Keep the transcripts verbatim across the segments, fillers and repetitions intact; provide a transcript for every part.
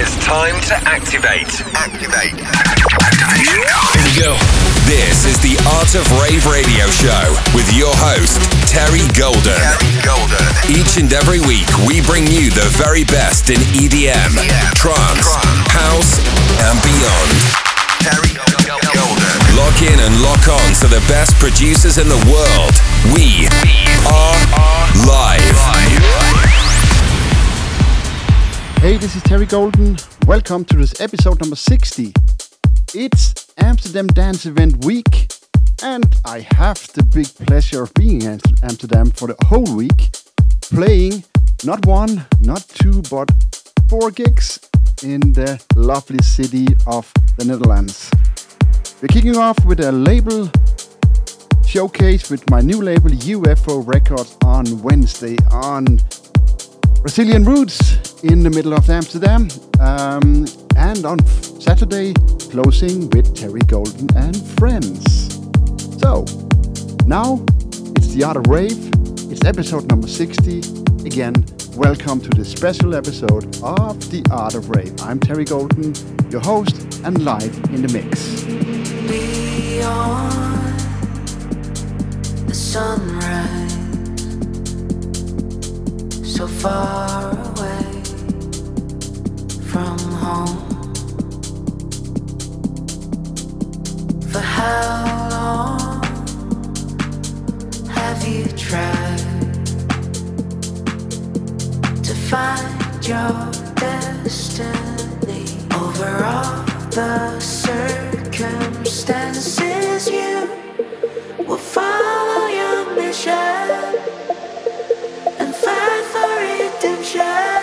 It's time to activate. Activate. Activation code. Here we go. This is the Art of Rave radio show with your host, Terry Golden. Terry Golden. Each and every week, we bring you the very best in E D M, yeah. trance, Trance, house, and beyond. Terry Golden. Lock in and lock on to the best producers in the world. We are live. Hey, this is Terry Golden. Welcome to this episode number sixty. It's Amsterdam Dance Event Week, and I have the big pleasure of being in Amsterdam for the whole week, playing not one, not two, but four gigs in the lovely city of the Netherlands. We're kicking off with a label showcase with my new label U F O Records on Wednesday on Brazilian Roots in the middle of Amsterdam, um, and on Saturday closing with Terry Golden and friends. So now it's the Art of Rave. It's episode number sixty. Again, welcome to this special episode of the Art of Rave. I'm Terry Golden, your host, and live in the mix. Beyond the sunrise, so far away from home. For how long have you tried to find your destiny over all the circumstances? You will follow your mission and fight for redemption,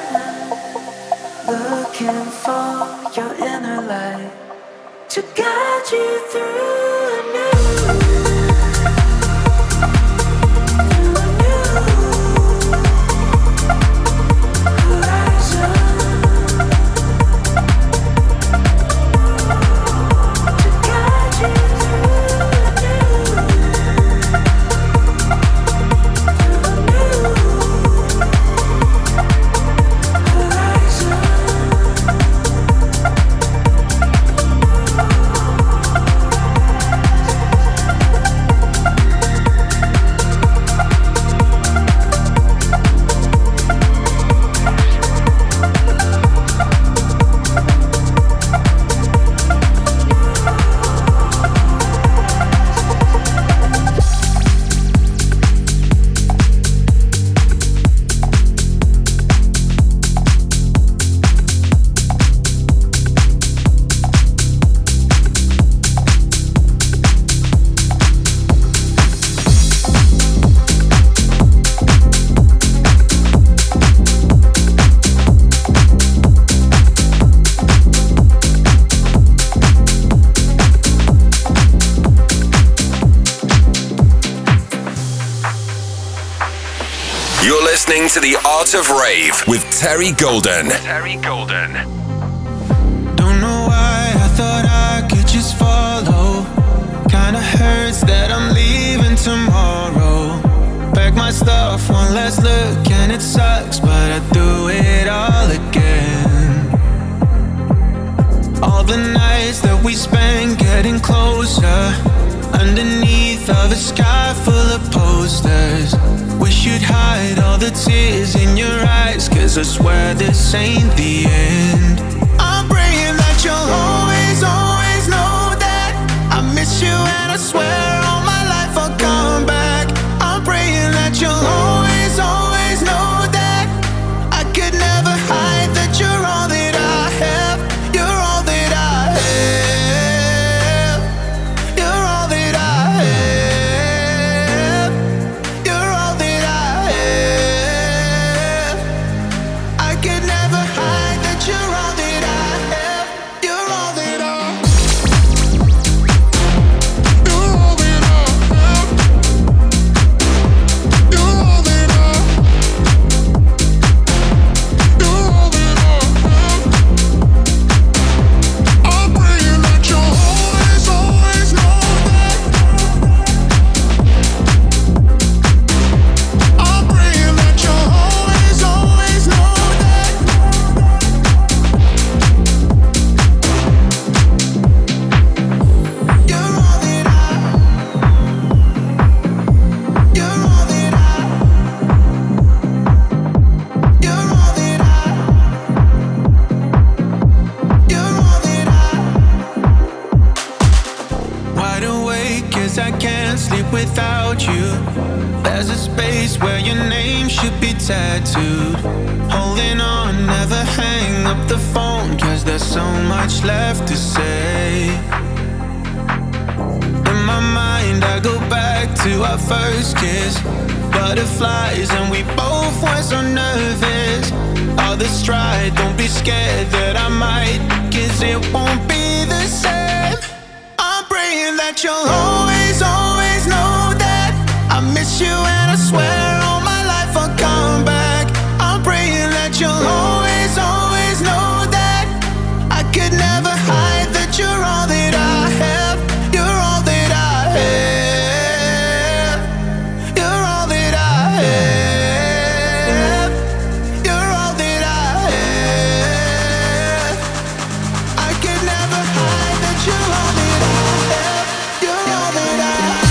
looking for your inner light to guide you through a new To the Art of Rave with Terry Golden. Terry Golden. Don't know why I thought I could just follow. Kinda hurts that I'm leaving tomorrow. Pack my stuff, one last look, and it sucks, but I do it all again. All the nights that we spent getting closer, underneath of a sky full of posters. Wish you'd hide all the tears in your eyes, 'cause I swear this ain't the end. I'm praying that you'll always, always know that I miss you, and I swear all my life I'll come back. I'm praying that you'll always, always know that I could never hide that you're all that I have. You're all that I have. You're all that I have. You're all that I have. I could never hide that you're all tattooed. Holding on, never hang up the phone, cause there's so much left to say. In my mind I go back to our first kiss. Butterflies and we both were so nervous. All the stride, don't be scared that I might, cause it won't be the same. I'm praying that you'll always, always know that I miss you and I swear all my life I'll come back. I'm praying that you'll always, always know that I could never hide that you're all that I have. You're all that I have. You're all that I have. You're all that I have. I could never hide that you're all that I have. You're all that I have.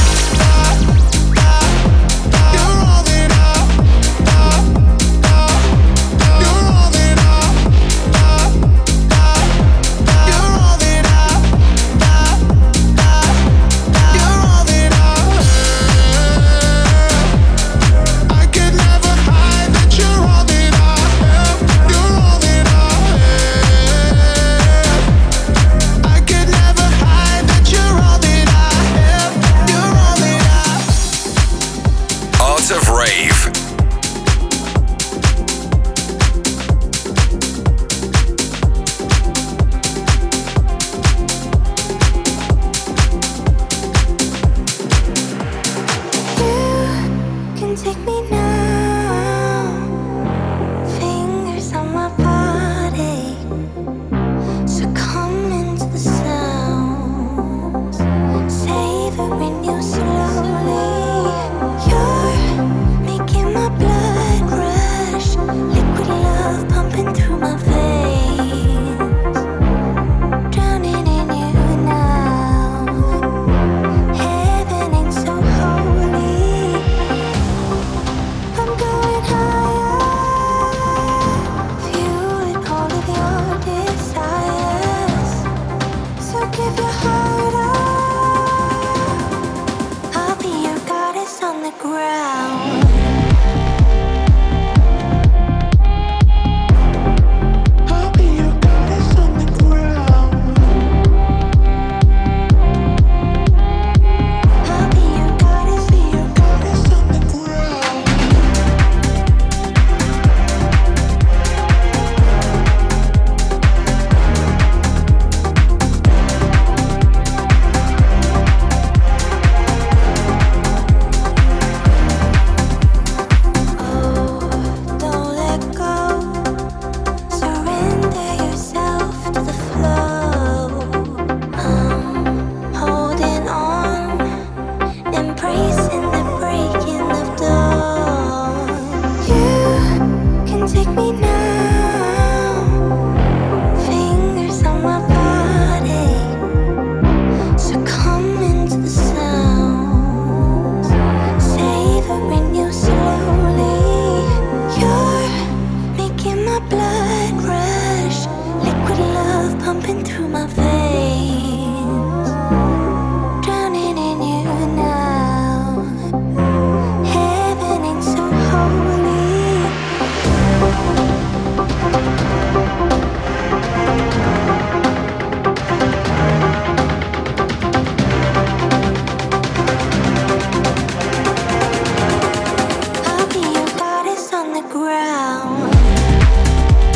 Of Rave. You can take me now. Fingers on my body, succumb into the sounds, savoring you slowly. You're making my blood rush, liquid love pumping through my veins, drowning in you now. Heaven ain't so holy. I'm going higher, fueling all of your desires. So give your heart up. I'll be your goddess on the ground. I'll be your goddess on the ground. I'll be your goddess, be your goddess on the ground. Oh, don't let go. Surrender yourself to the flow. I'm holding on, embracing the breaking of dawn. You can take me now. Fingers on my body, succumb into the sounds, savoring you slowly. You're making my blood rush, liquid love pumping through my veins, drowning in you now. Heaven ain't so holy. I'll be your goddess on the ground.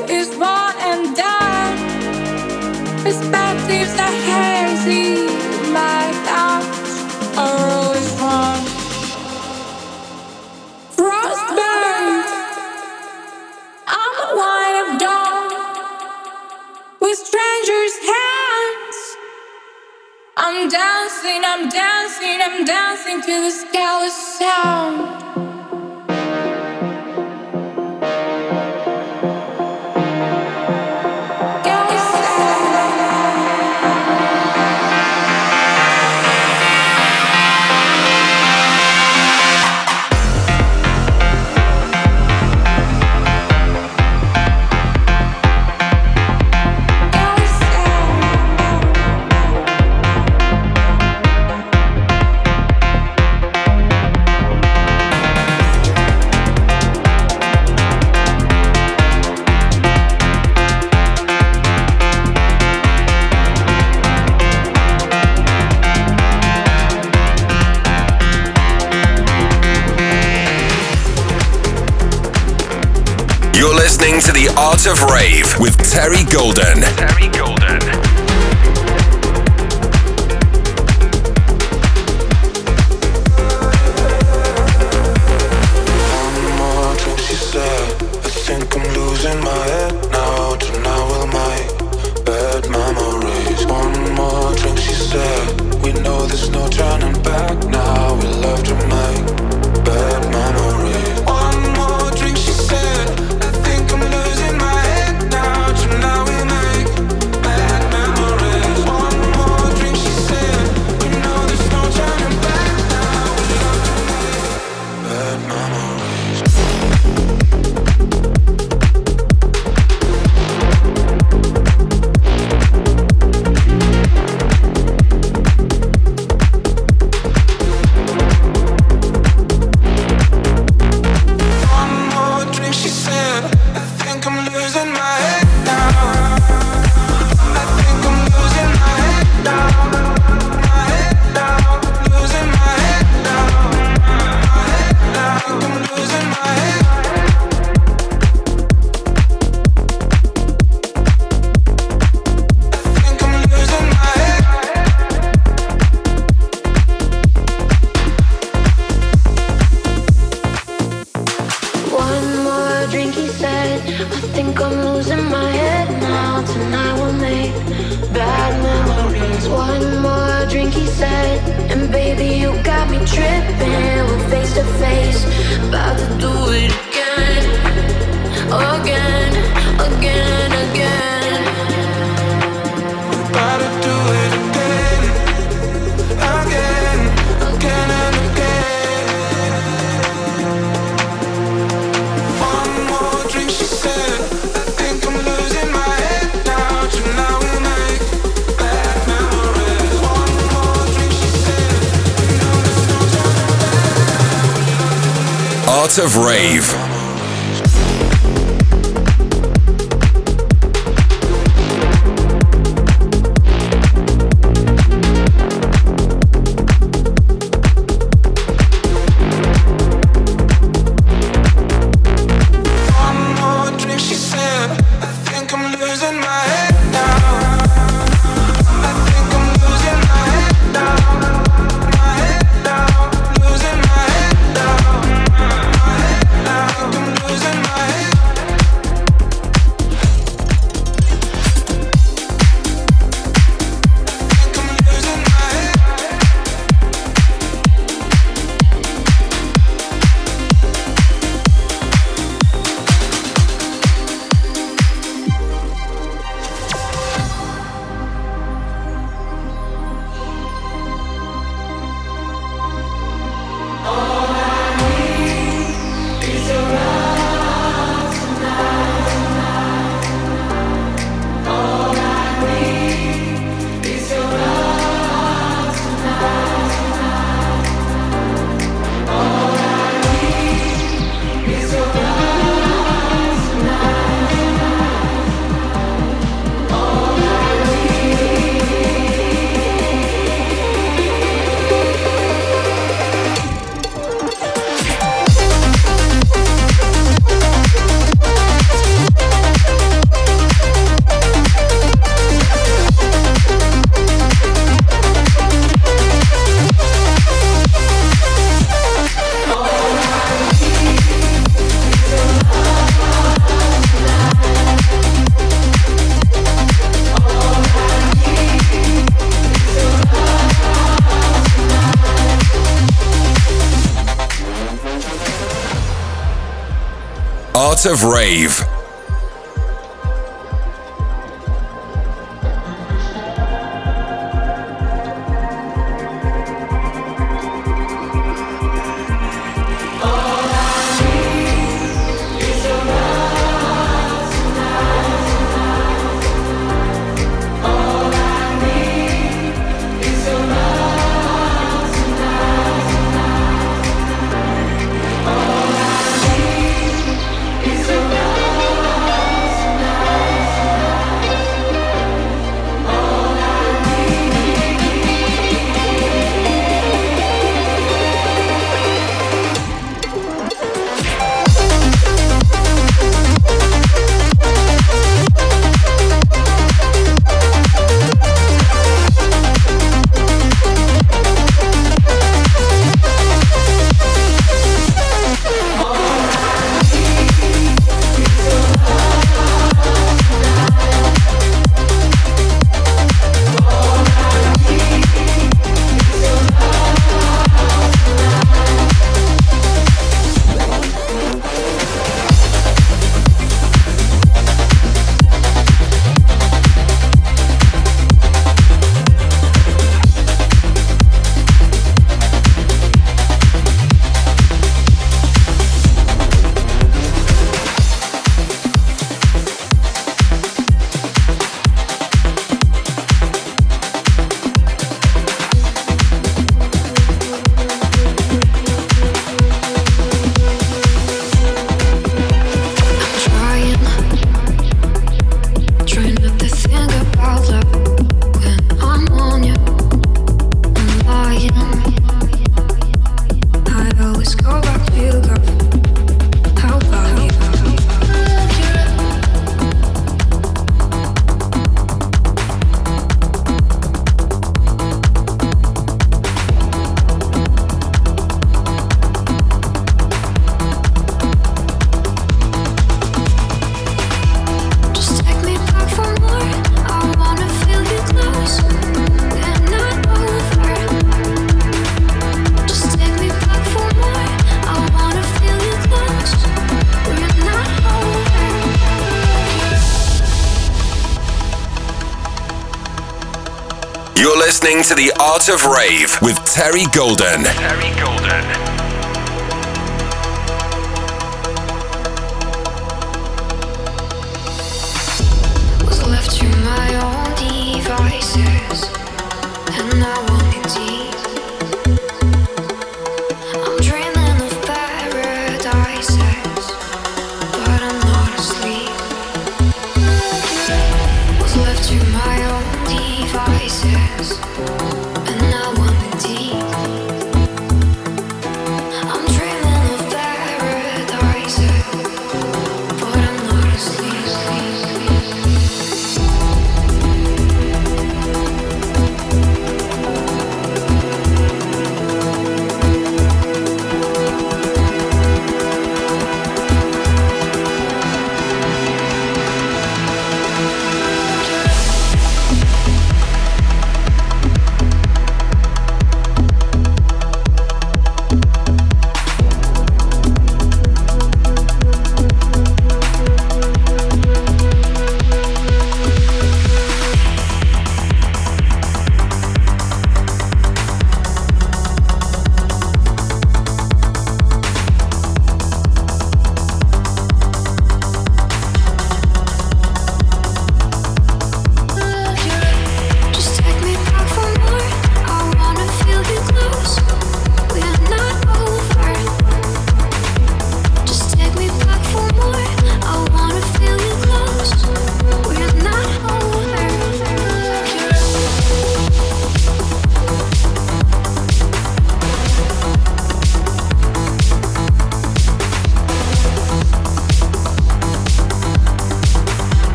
is one and done. Perspectives are hazy, my thoughts are always wrong. Frostburned, I'm the one of dawn. With strangers' hands, I'm dancing, I'm dancing, I'm dancing to the scandalous sound. You're listening to The Art of Rave with Terry Golden. Terry Golden. One more drink, she said. I think I'm losing my head now. Tonight we'll make bad memories. One more drink, she said. We know there's no turning back now. We love to make bad memories. One more drink, she said. I think I'm losing my head now. Tonight we make bad memories. One more drink, she said. We know there's no turning back now. We love to make bad memories. Art of Rave. Now Art of Rave. Listening to the Art of Rave with Terry Golden. Terry Golden. Was left to my own devices, and now I'm in deep. I'm dreaming of paradises, but I'm not asleep. Was left to my own devices, and now I'm in deep. I'm dreaming of paradises, but I'm not asleep.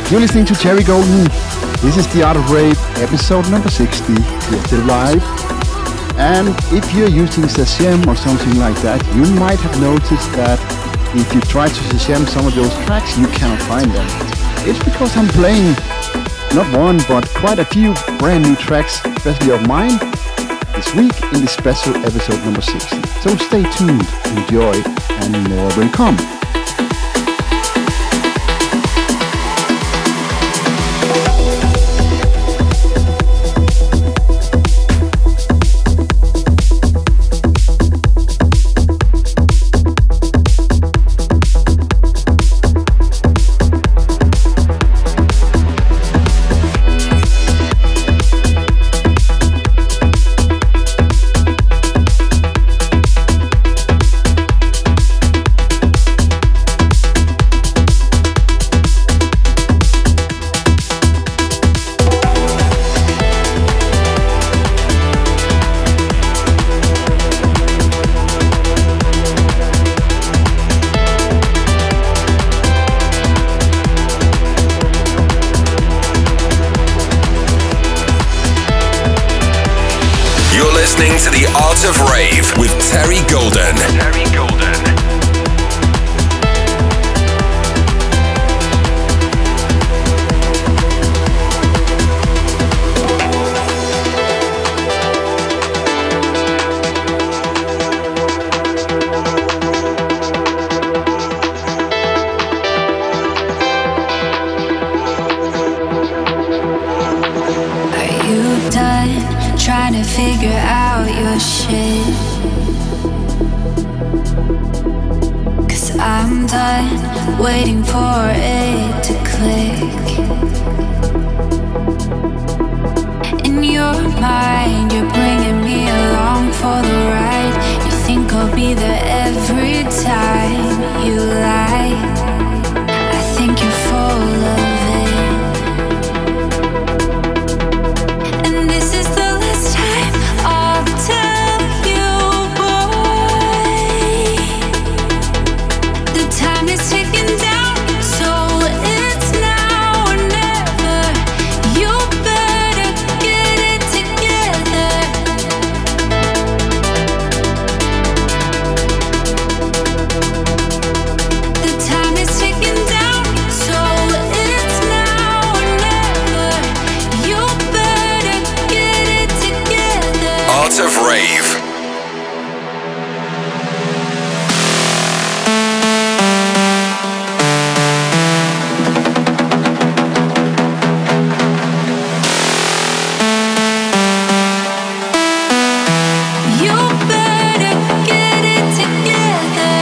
You're listening to Terry Golden. This is the Art of Rave, episode number sixty. We're still live. And if you're using Shazam or something like that, you might have noticed that if you try to Shazam some of those tracks, you cannot find them. It's because I'm playing not one, but quite a few brand new tracks, especially of mine, this week in this special episode number sixty. So stay tuned, enjoy, and more will come. Listening to the Art of Rave with Terry Golden. Terry Golden. Are you done trying to figure out your shit? 'Cause I'm done waiting for it to click. In your mind, you're bringing me along for the ride. You think I'll be there every time you lie. I think you're full of it. And this is the last time I'll tell you, boy. The time is ticking down, so it's now or never. You better get it together. The time is ticking down, so it's now or never. You better get it together. Art of Rave. You better get it together.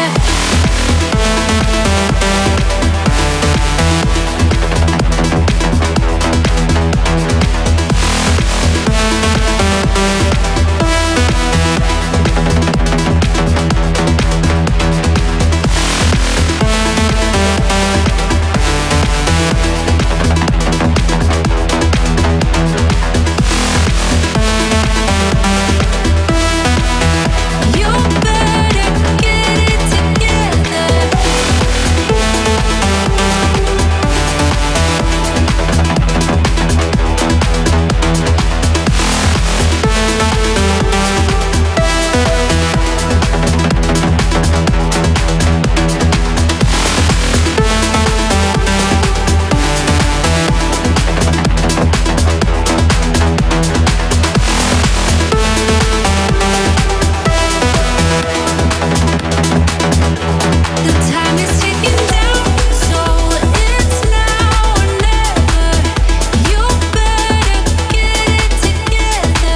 You better get it together. The time is ticking down, so it's now or never. You better get it together.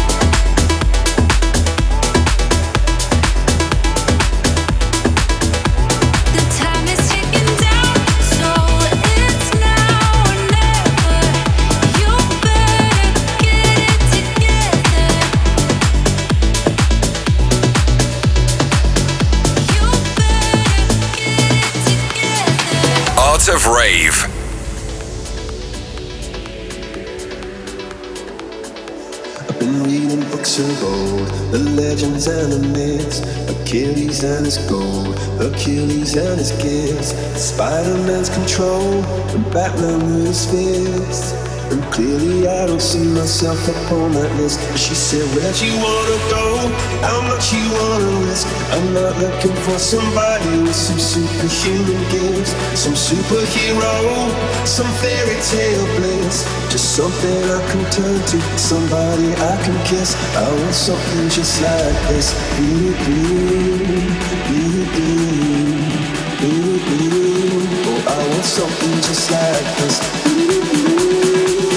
The time is ticking down, so it's now or never. You better get it together. You better get it together. Art of Rave. I've been been reading books of old, the legends and the myths, Achilles and his gold, Achilles and his gifts, Spider-Man's control, and Batman with his fists. And clearly I don't see myself up on that list. But she said, where'd you wanna go? How much you wanna risk? I'm not looking for somebody with some superhuman gifts, some superhero, some fairy tale bliss. Just something I can turn to, somebody I can kiss. I want something just like this. Ooh, ooh, ooh, ooh, ooh, ooh. Oh, I want something just like this. Ooh, ooh.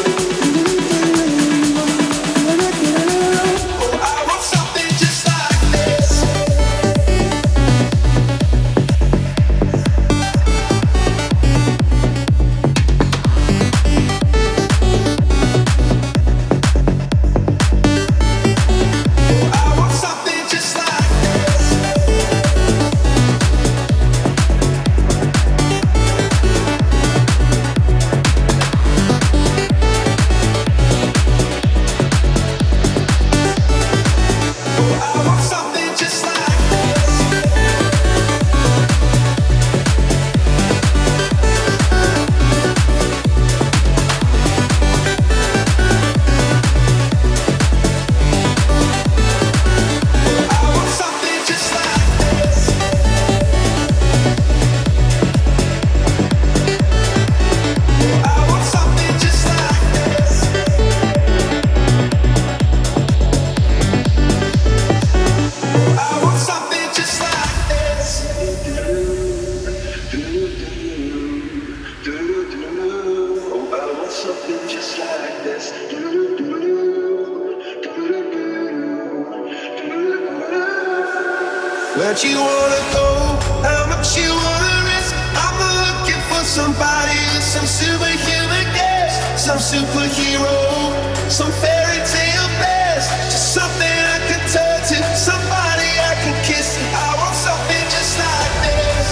Where'd you wanna go? How much you wanna risk? I'm looking for somebody with some superhuman gifts, some superhero, some fairy tale bliss. Just something I can turn to, somebody I can kiss. I want something just like this.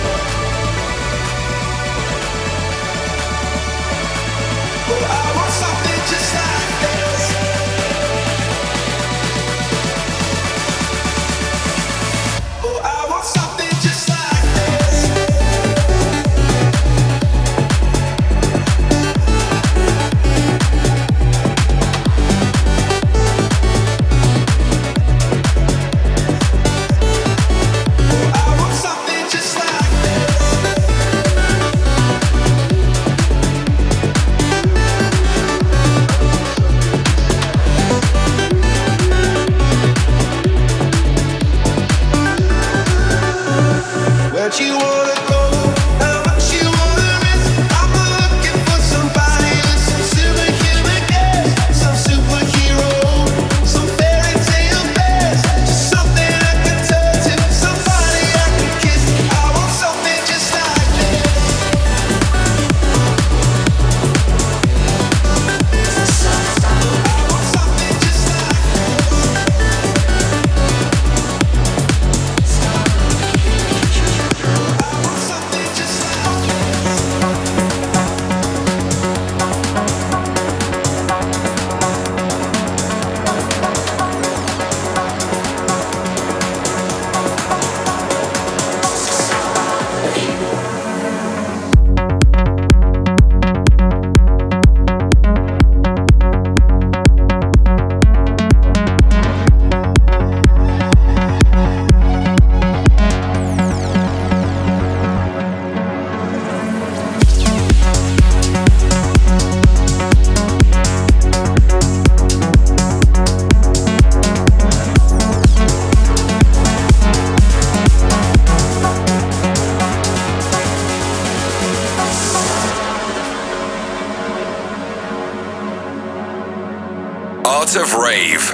Oh, I want something just like this. Something just like this. Art of Rave.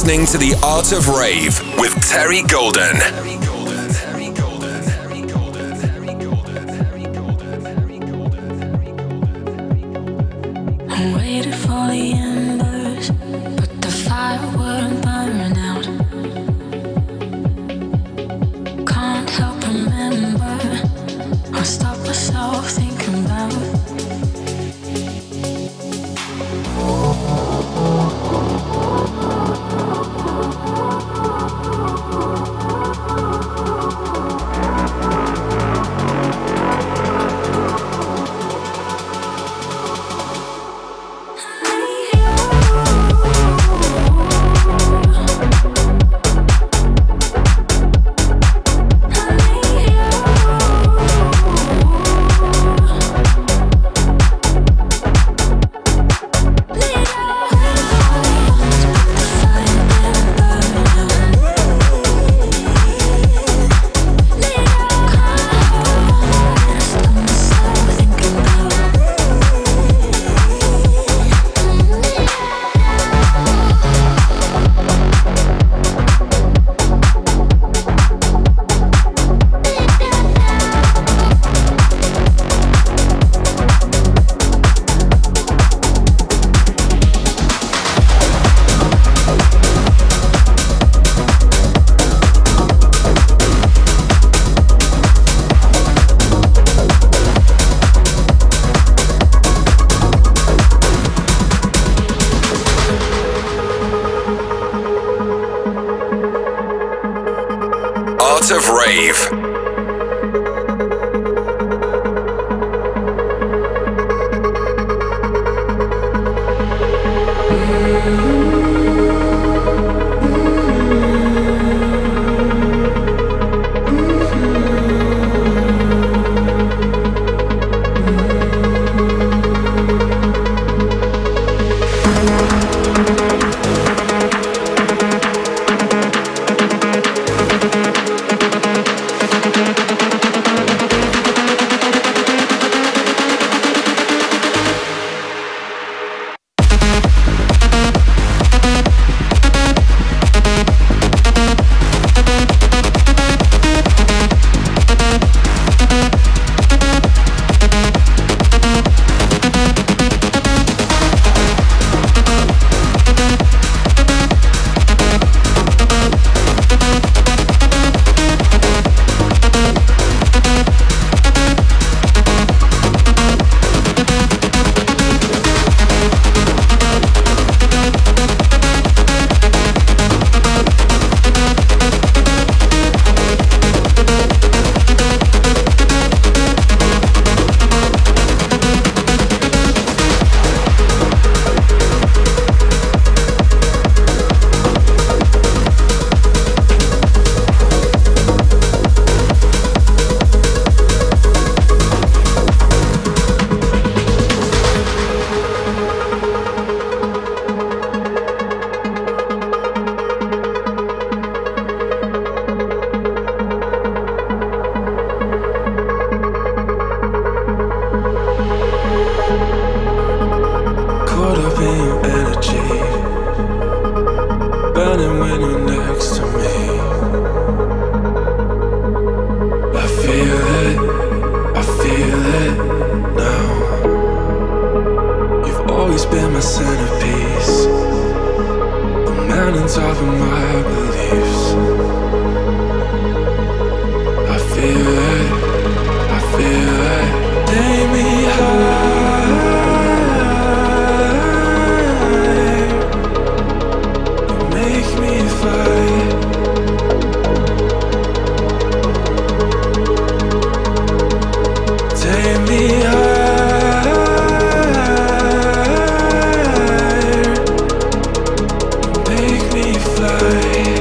listening to The Art of Rave with Terry Golden. I waited for the embers, but the fire wouldn't burn out. Can't help remember, I stop myself thinking about Art of Rave. Make me fly.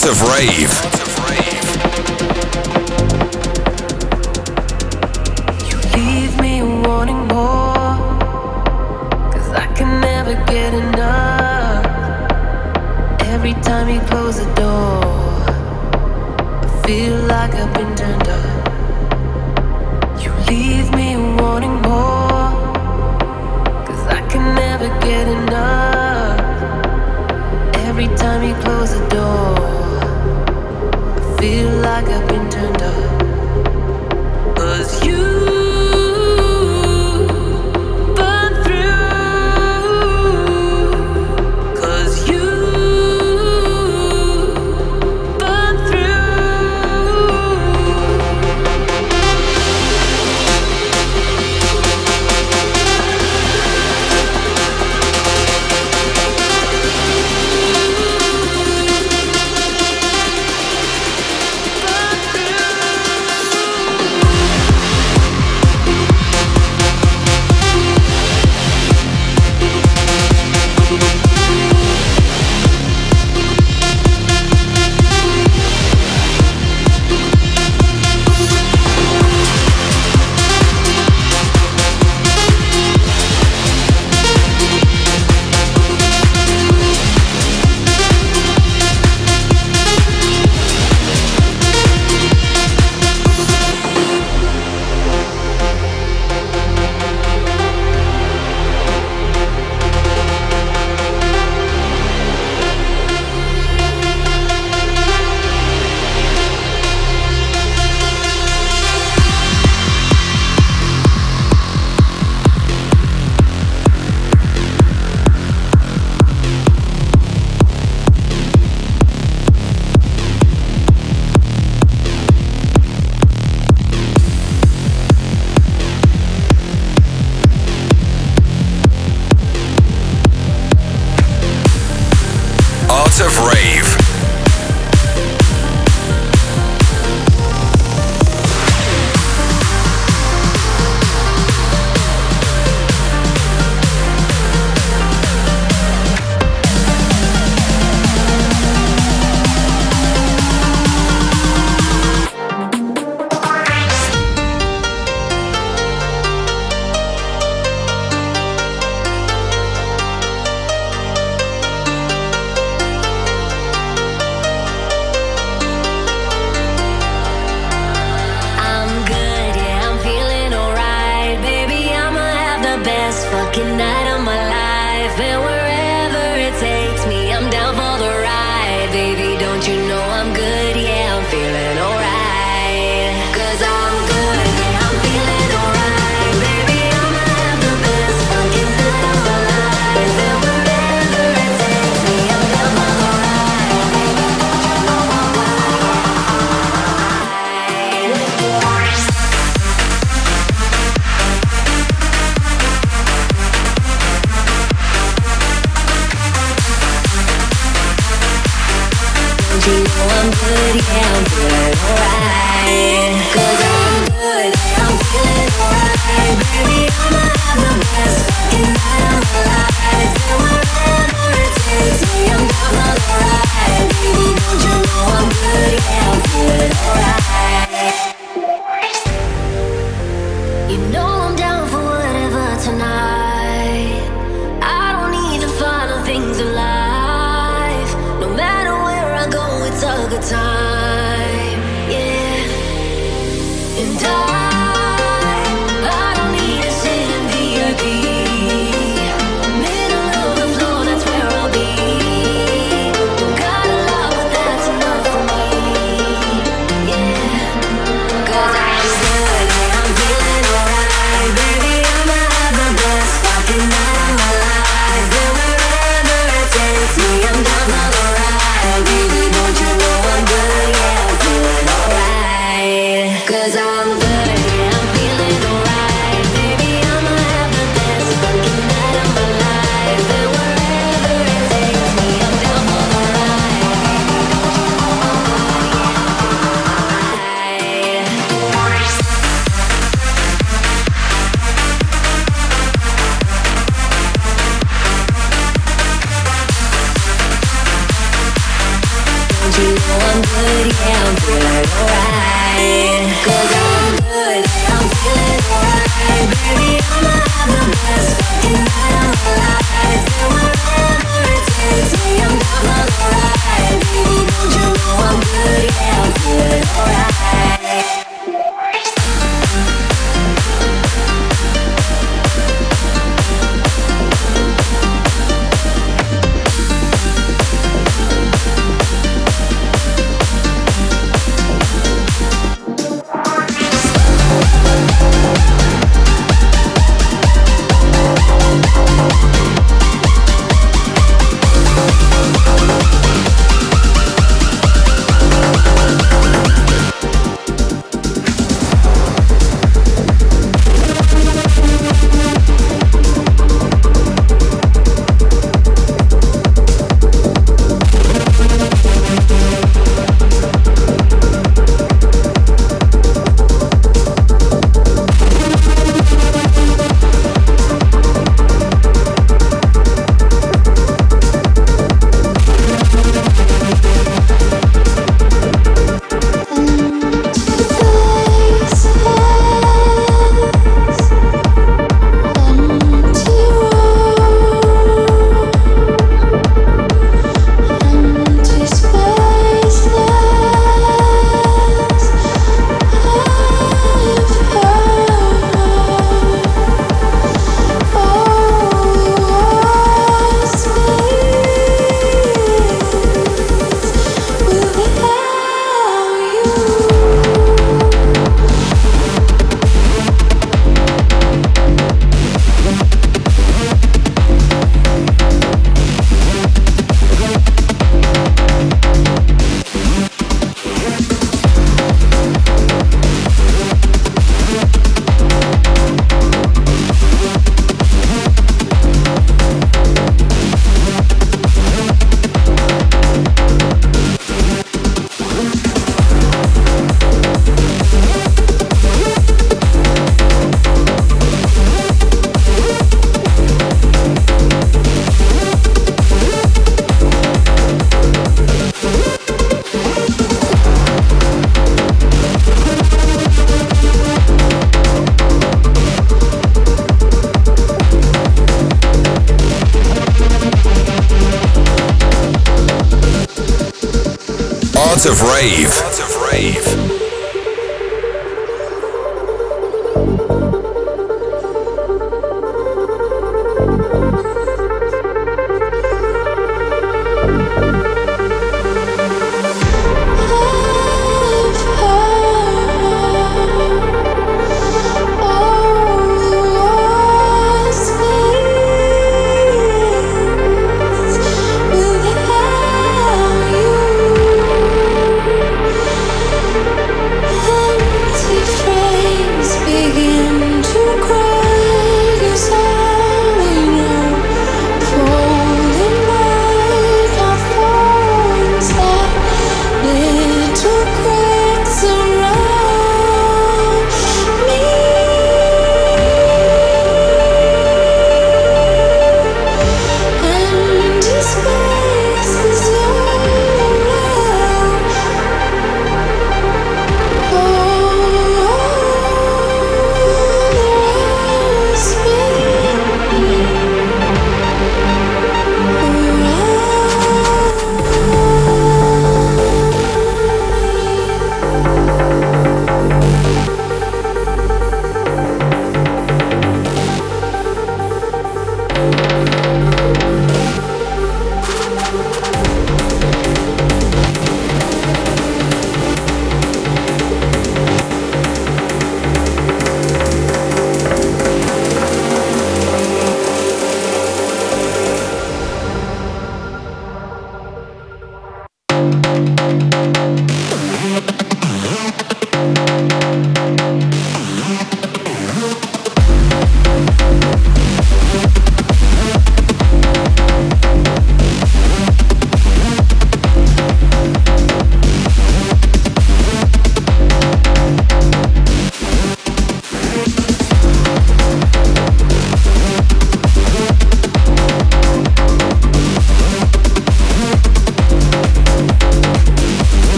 Art of Rave. You leave me wanting more, 'cause I can never get enough. Every time you close the door, I feel like I've been turned up. You leave me wanting more, 'cause I can never get enough. Every time you close the door, I feel like I've been turned up. 'Cause you burn through, 'cause you burn through. Art of Rave. Time, yeah. good, yeah, I'm feeling alright. Cause I'm good, I'm feeling alright. Baby, I'ma have the best fucking night of my life. And wherever it takes me, I'm down for the ride. Baby, don't you know I'm good, yeah, I'm feeling alright. Art of Rave. Art of Rave. You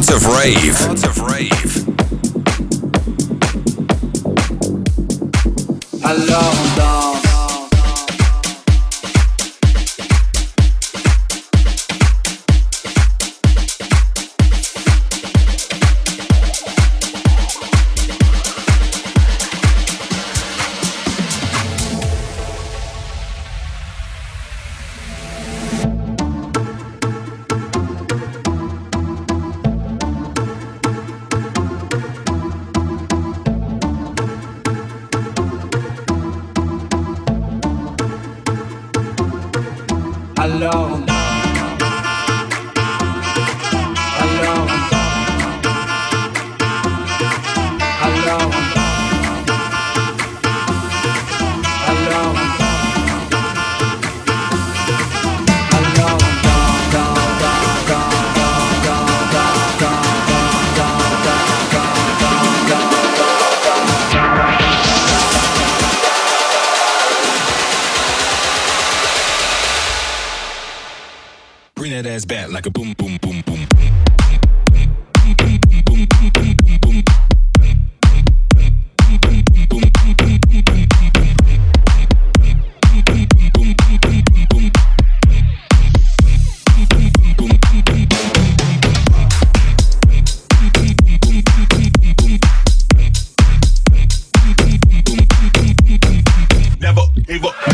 Art of Rave. Art of Rave. Alors on danse. Alors on Alors on Alors on Alors on Bring that ass back like a boom, boom, boom, boom. Never give up.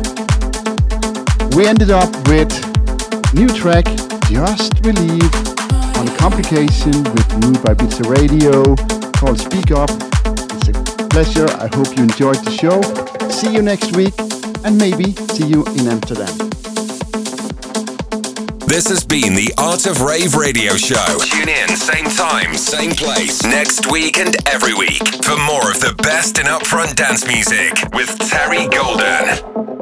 We ended up with new track, Just Believe, on Complication with Mood by Pizza Radio called Speak Up. It's a pleasure. I hope you enjoyed the show. See you next week and maybe see you in Amsterdam. This has been the Art of Rave Radio Show. Tune in, same time, same place, next week and every week for more of the best in upfront dance music with Terry Golden.